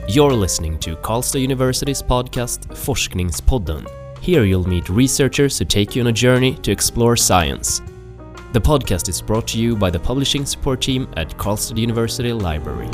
You're listening to Karlstad University's podcast Forskningspodden. Here you'll meet researchers who take you on a journey to explore science. The podcast is brought to you by the publishing support team at Karlstad University Library.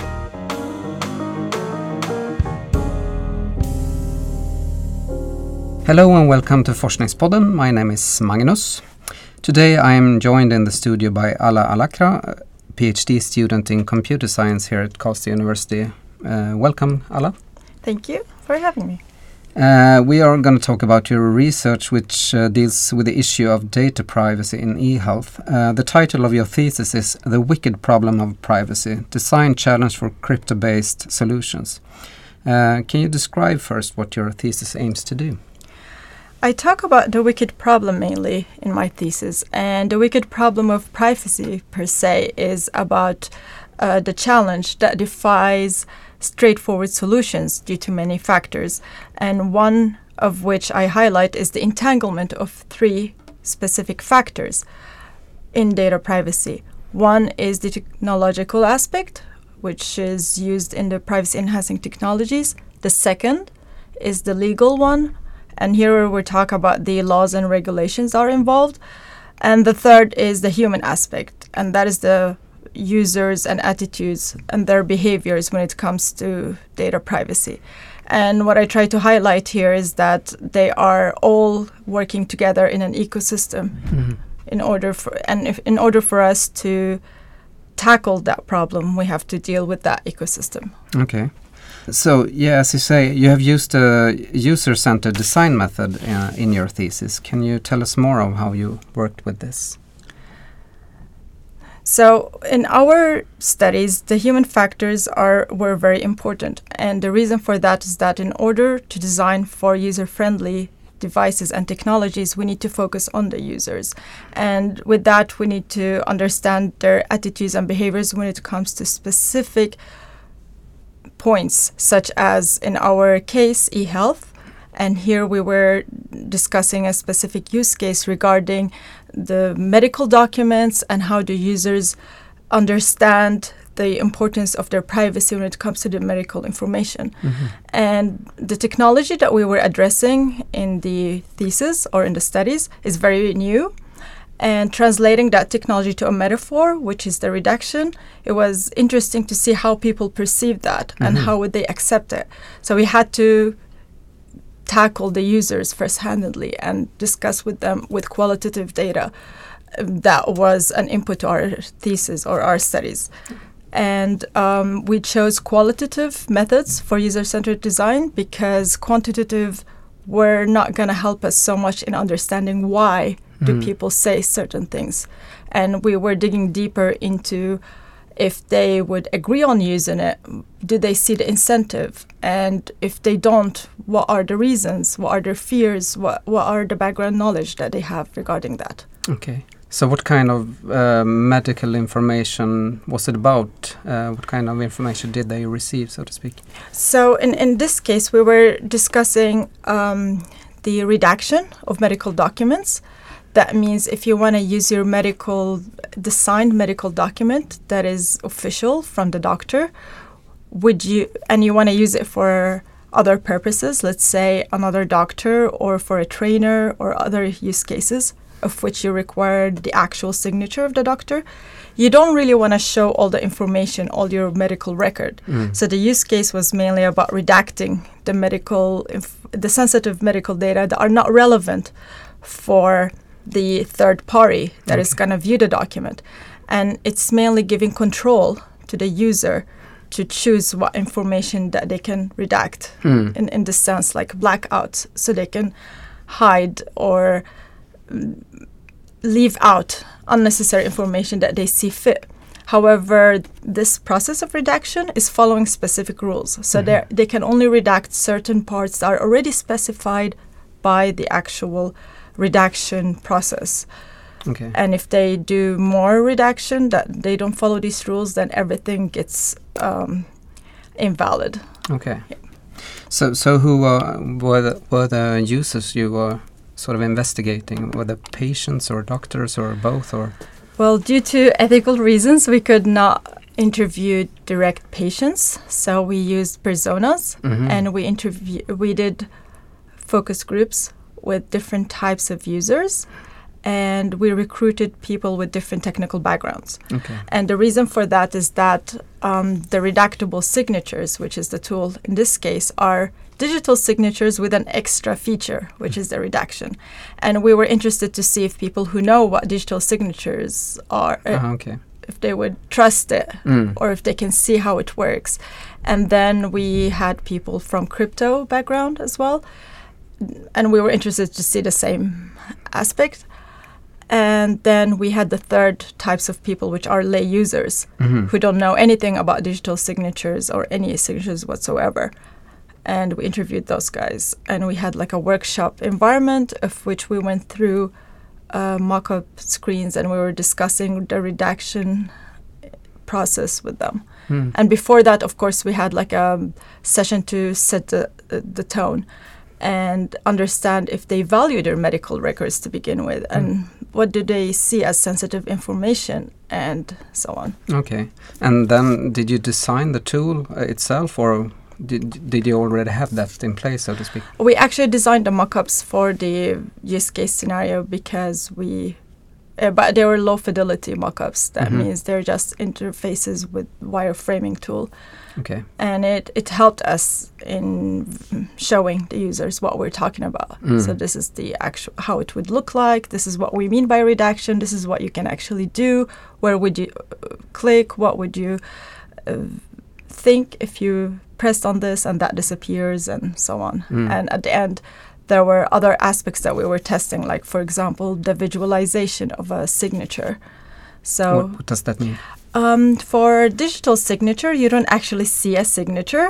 Hello and welcome to Forskningspodden. My name is Magnus. Today I am joined in the studio by Ala Alakra, PhD student in computer science here at Karlstad University. Welcome, Ala. Thank you for having me. We are going to talk about your research, which deals with the issue of data privacy in e-health. The title of your thesis is The Wicked Problem of Privacy, Design Challenge for Crypto-Based Solutions. Can you describe first what your thesis aims to do? I talk about the wicked problem mainly in my thesis, and the wicked problem of privacy per se is about the challenge that defies straightforward solutions due to many factors, and one of which I highlight is the entanglement of three specific factors in data privacy. One is the technological aspect, which is used in the privacy-enhancing technologies. The second is the legal one, and here we talk about the laws and regulations are involved. And the third is the human aspect, and that is the users and attitudes and their behaviors when it comes to data privacy. And what I try to highlight here is that they are all working together in an ecosystem in order for us to tackle that problem, we have to deal with that ecosystem. Okay. So, as you say, you have used a user-centered design method in your thesis. Can you tell us more of how you worked with this? So in our studies, the human factors were very important. And the reason for that is that in order to design for user-friendly devices and technologies, we need to focus on the users. And with that, we need to understand their attitudes and behaviors when it comes to specific points, such as in our case, e-health. And here we were discussing a specific use case regarding the medical documents and how do users understand the importance of their privacy when it comes to the medical information. And the technology that we were addressing in the thesis or in the studies is very new. And translating that technology to a metaphor, which is the redaction, it was interesting to see how people perceive that and how would they accept it. So we had to tackle the users first-handedly and discuss with them with qualitative data. That was an input to our thesis or our studies. And we chose qualitative methods for user-centered design because quantitative were not going to help us so much in understanding why do people say certain things. And we were digging deeper into if they would agree on using it, do they see the incentive? And if they don't, what are the reasons? What are their fears? What are the background knowledge that they have regarding that? Okay. So what kind of medical information was it about? What kind of information did they receive, so to speak? So in this case, we were discussing the redaction of medical documents. That means if you want to use your designed medical document that is official from the doctor, and you want to use it for other purposes, let's say another doctor or for a trainer or other use cases of which you require the actual signature of the doctor, you don't really want to show all the information, all your medical record. So the use case was mainly about redacting the sensitive medical data that are not relevant for the third party that is going to view the document. And it's mainly giving control to the user to choose what information that they can redact in the sense like blackouts, so they can hide or leave out unnecessary information that they see fit. However, this process of redaction is following specific rules. So they can only redact certain parts that are already specified by the actual redaction process. Okay. And if they do more redaction that they don't follow these rules, then everything gets invalid. Okay. So who were the users you were sort of investigating? Were the patients or doctors or both? Or well, due to ethical reasons, we could not interviewed direct patients. So we used personas, and we did focus groups with different types of users, and we recruited people with different technical backgrounds. Okay. And the reason for that is that the redactable signatures, which is the tool in this case, are digital signatures with an extra feature, which is the redaction. And we were interested to see if people who know what digital signatures are, if they would trust it, or if they can see how it works. And then we had people from crypto background as well, and we were interested to see the same aspect. And then we had the third types of people, which are lay users who don't know anything about digital signatures or any signatures whatsoever. And we interviewed those guys, and we had like a workshop environment of which we went through mock-up screens, and we were discussing the redaction process with them. And before that, of course, we had like a session to set the tone and understand if they value their medical records to begin with, and what do they see as sensitive information, and so on. Okay. And then did you design the tool itself, or did you already have that in place, so to speak? We actually designed the mock-ups for the use case scenario because but they were low fidelity mock-ups. That means they're just interfaces with wireframing tool. Okay. And it helped us in showing the users what we're talking about. So this is the actual how it would look like. This is what we mean by redaction. This is what you can actually do. Where would you click? What would you think if you pressed on this and that disappears, and so on. And at the end, there were other aspects that we were testing, like, for example, the visualization of a signature. So what does that mean? For digital signature, you don't actually see a signature.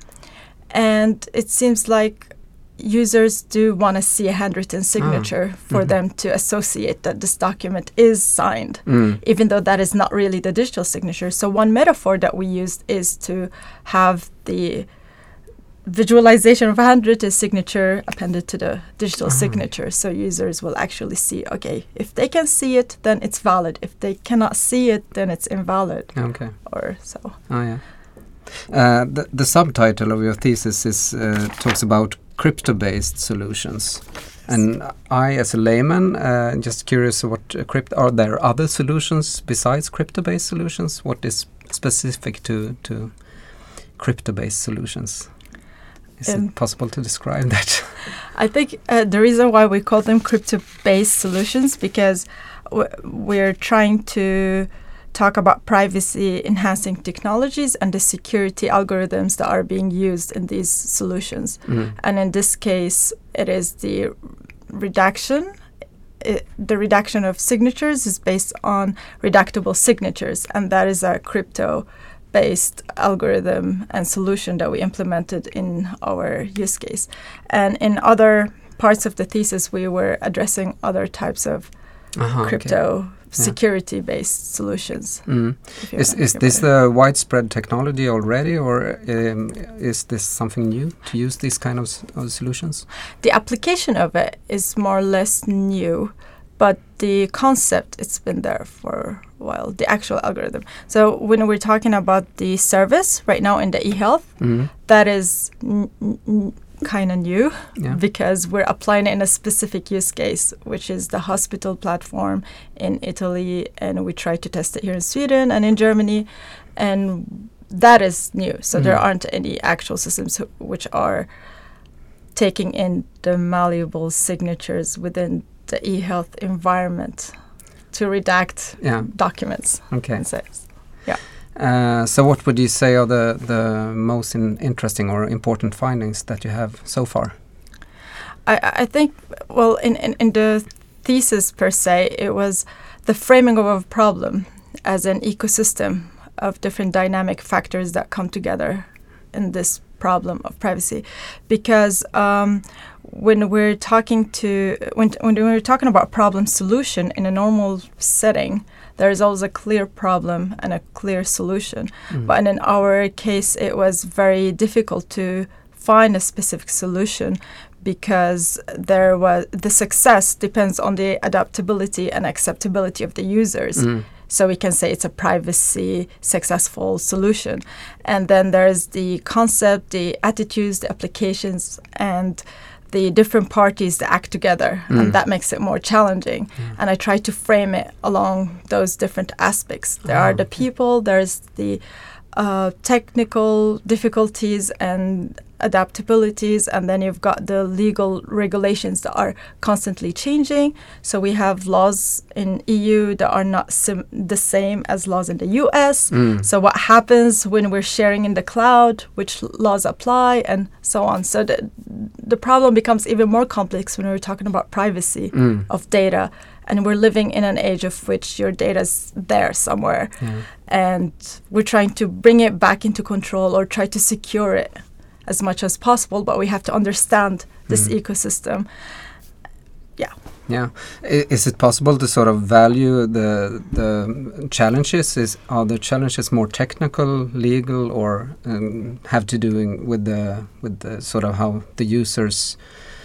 And it seems like users do want to see a handwritten signature for them to associate that this document is signed, even though that is not really the digital signature. So one metaphor that we used is to have the visualization of a handwritten signature appended to the digital signature, so users will actually see, okay, if they can see it, then it's valid. If they cannot see it, then it's invalid. Okay. Or so. Oh, yeah. The subtitle of your thesis is talks about crypto-based solutions, and I, as a layman, just curious, what are there other solutions besides crypto-based solutions? What is specific to crypto-based solutions? Is it possible to describe that? I think the reason why we call them crypto-based solutions, because we're trying to talk about privacy-enhancing technologies and the security algorithms that are being used in these solutions. And in this case, it is the redaction. The redaction of signatures is based on redactable signatures, and that is a crypto-based algorithm and solution that we implemented in our use case. And in other parts of the thesis, we were addressing other types of crypto security-based solutions. Is this the widespread technology already, or is this something new to use these kind of solutions? The application of it is more or less new, but the concept, it's been there for a while, the actual algorithm. So when we're talking about the service right now in the eHealth, that is kind of new, because we're applying it in a specific use case, which is the hospital platform in Italy, and we try to test it here in Sweden and in Germany, and that is new. So there aren't any actual systems which are taking in the malleable signatures within the eHealth environment to redact documents. Okay. And sales. Yeah. So what would you say are the most interesting or important findings that you have so far? I think, well, in the thesis per se, it was the framing of a problem as an ecosystem of different dynamic factors that come together in this problem of privacy. Because when we're talking about problem solution in a normal setting, there is always a clear problem and a clear solution. But in our case, it was very difficult to find a specific solution, because the success depends on the adaptability and acceptability of the users. So we can say it's a privacy successful solution. And then there's the concept, the attitudes, the applications, and the different parties that act together. And that makes it more challenging. And I try to frame it along those different aspects. There are the people, there's the technical difficulties and adaptabilities, and then you've got the legal regulations that are constantly changing. So we have laws in EU that are not the same as laws in the US. So what happens when we're sharing in the cloud, which laws apply, and so on. So the problem becomes even more complex when we're talking about privacy of data. And we're living in an age of which your data's there somewhere. And we're trying to bring it back into control or try to secure it as much as possible, but we have to understand this ecosystem. Yeah. Is it possible to sort of value the challenges? Are the challenges more technical, legal, or have to do with the sort of how the users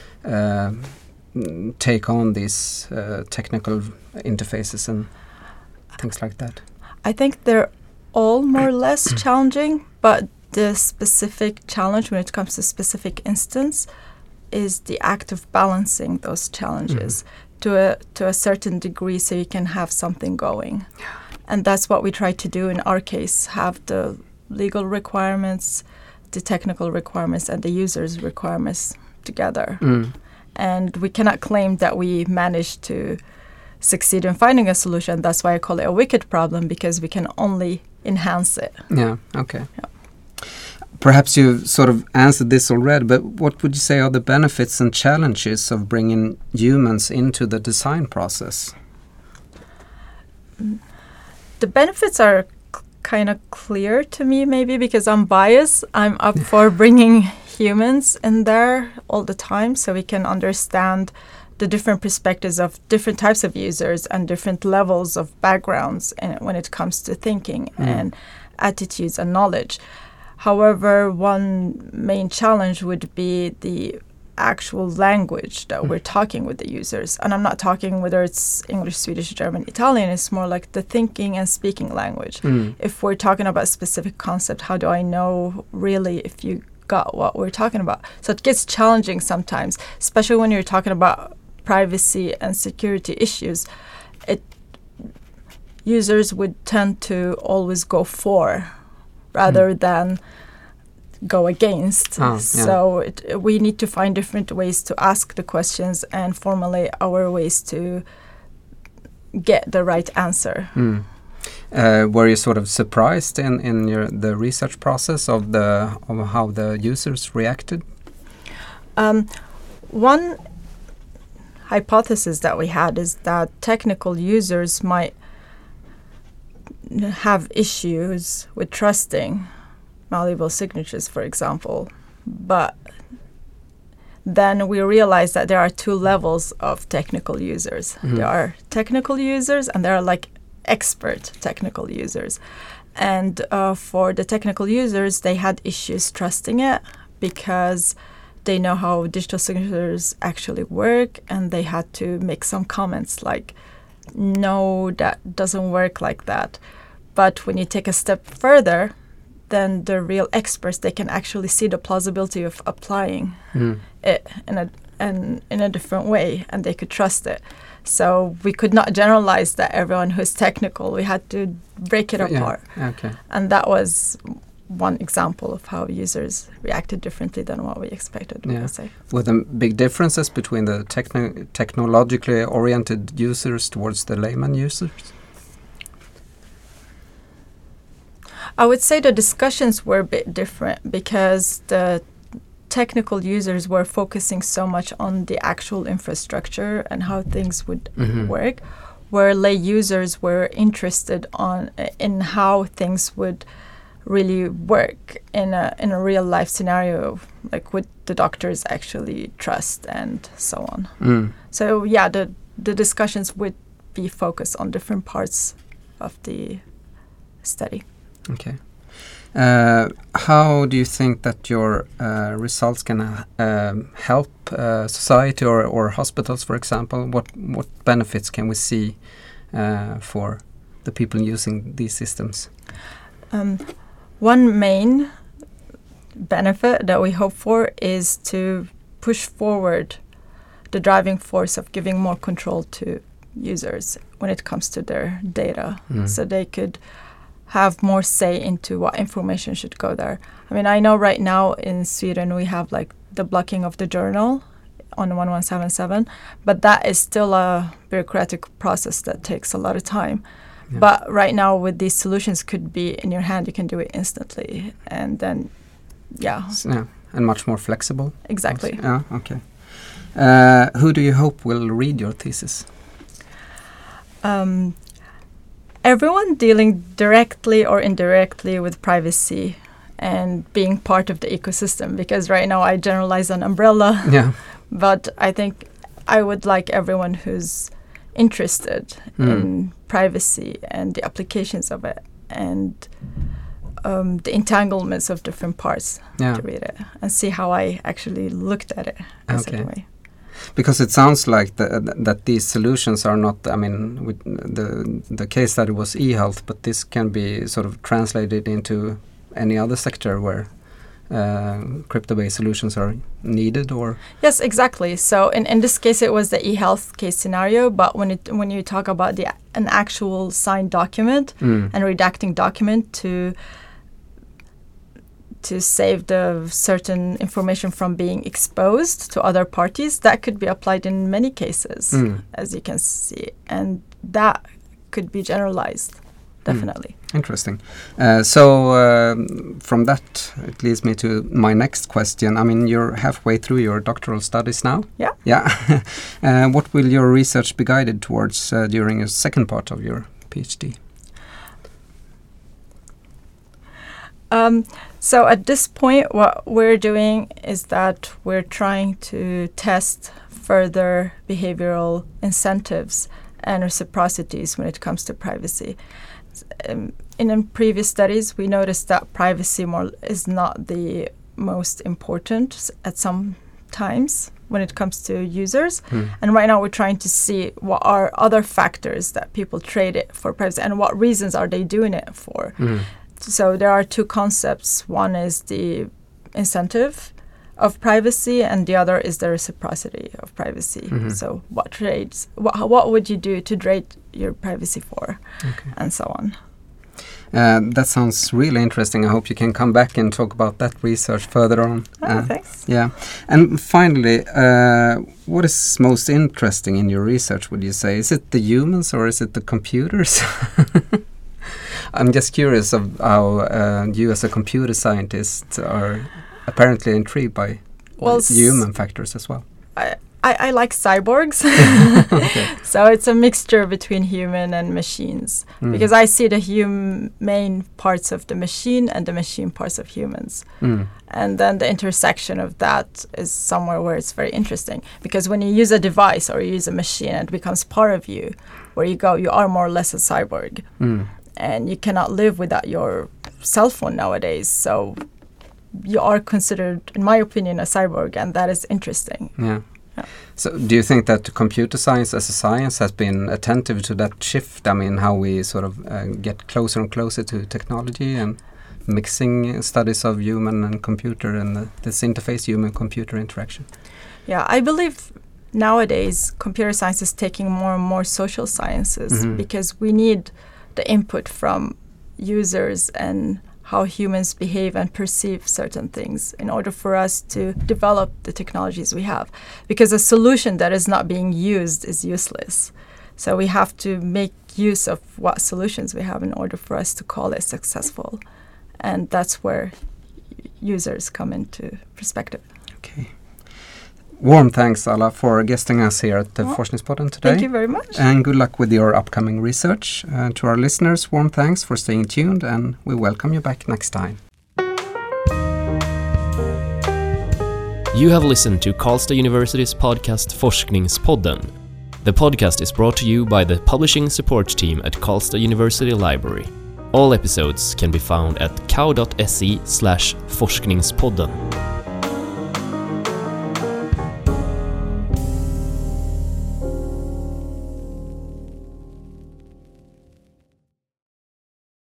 take on these technical interfaces and things like that? I think they're all more or less challenging, but the specific challenge when it comes to specific instance is the act of balancing those challenges to a certain degree so you can have something going. And that's what we try to do in our case, have the legal requirements, the technical requirements, and the user's requirements together. And we cannot claim that we managed to succeed in finding a solution. That's why I call it a wicked problem, because we can only enhance it. Yeah, okay. Perhaps you've sort of answered this already, but what would you say are the benefits and challenges of bringing humans into the design process? The benefits are kind of clear to me, maybe because I'm biased. I'm up for bringing humans in there all the time so we can understand the different perspectives of different types of users and different levels of backgrounds when it comes to thinking and attitudes and knowledge. However, one main challenge would be the actual language that we're talking with the users. And I'm not talking whether it's English, Swedish, German, Italian. It's more like the thinking and speaking language. If we're talking about a specific concept, how do I know really if you got what we're talking about? So it gets challenging sometimes, especially when you're talking about privacy and security issues. Users would tend to always go for rather than go against. So we need to find different ways to ask the questions and formulate our ways to get the right answer. Were you sort of surprised in the research process of how the users reacted? One hypothesis that we had is that technical users might have issues with trusting malleable signatures, for example. But then we realized that there are two levels of technical users. There are technical users and there are like expert technical users. And for the technical users, they had issues trusting it because they know how digital signatures actually work, and they had to make some comments like, no, that doesn't work like that. But when you take a step further, then the real experts, they can actually see the plausibility of applying it in a different way, and they could trust it. So we could not generalize that everyone who's technical. We had to break it apart. Okay. And that was one example of how users reacted differently than what we expected. I would say. Were there big differences between the technologically oriented users towards the layman users? I would say the discussions were a bit different because the technical users were focusing so much on the actual infrastructure and how things would work, where lay users were interested in how things would really work in a real life scenario, like would the doctors actually trust and so on. So the discussions would be focused on different parts of the study. Okay. How do you think that your results can help society or hospitals, for example? What benefits can we see for the people using these systems? One main benefit that we hope for is to push forward the driving force of giving more control to users when it comes to their data, so they could have more say into what information should go there. I mean, I know right now in Sweden we have like the blocking of the journal on 1177, but that is still a bureaucratic process that takes a lot of time. Yeah. But right now with these solutions could be in your hand, you can do it instantly, and then and much more flexible. Exactly. Yeah, okay. Who do you hope will read your thesis? Everyone dealing directly or indirectly with privacy and being part of the ecosystem, because right now I generalize an umbrella. Yeah. But I think I would like everyone who's interested in privacy and the applications of it and the entanglements of different parts to read it and see how I actually looked at it in a certain way. Because it sounds like that these solutions are not, I mean, with the case study was e-health, but this can be sort of translated into any other sector where crypto-based solutions are needed, or? Yes, exactly. So in this case, it was the e-health case scenario, but when you talk about an actual signed document and redacting document to save the certain information from being exposed to other parties, that could be applied in many cases, as you can see, and that could be generalized, definitely. Interesting. So from that, it leads me to my next question. I mean, you're halfway through your doctoral studies now. Yeah. Yeah. What will your research be guided towards during your second part of your PhD? So at this point, what we're doing is that we're trying to test further behavioral incentives and reciprocities when it comes to privacy. In previous studies, we noticed that privacy is not the most important at some times when it comes to users. And right now we're trying to see what are other factors that people trade it for privacy and what reasons are they doing it for. So there are two concepts. One is the incentive of privacy and the other is the reciprocity of privacy. So what would you do to trade your privacy for, and so on. That sounds really interesting. I hope you can come back and talk about that research further on. Thanks. Yeah. And finally, what is most interesting in your research, would you say? Is it the humans or is it the computers? I'm just curious of how you as a computer scientist are apparently intrigued by human factors as well. I like cyborgs. So it's a mixture between human and machines, because I see the humane parts of the machine and the machine parts of humans. And then the intersection of that is somewhere where it's very interesting, because when you use a device or you use a machine, it becomes part of you. Where you go, you are more or less a cyborg. And you cannot live without your cell phone nowadays. So you are considered, in my opinion, a cyborg, and that is interesting. Yeah. So do you think that computer science as a science has been attentive to that shift? I mean, how we sort of get closer and closer to technology and mixing studies of human and computer and this interface, human-computer interaction? Yeah, I believe nowadays computer science is taking more and more social sciences because we need the input from users and how humans behave and perceive certain things in order for us to develop the technologies we have. Because a solution that is not being used is useless. So we have to make use of what solutions we have in order for us to call it successful. And that's where users come into perspective. Okay. Warm thanks, Alla, for guesting us here at the Forskningspodden today. Thank you very much. And good luck with your upcoming research. To our listeners, warm thanks for staying tuned, and we welcome you back next time. You have listened to Karlstad University's podcast Forskningspodden. The podcast is brought to you by the publishing support team at Karlstad University Library. All episodes can be found at kau.se/forskningspodden.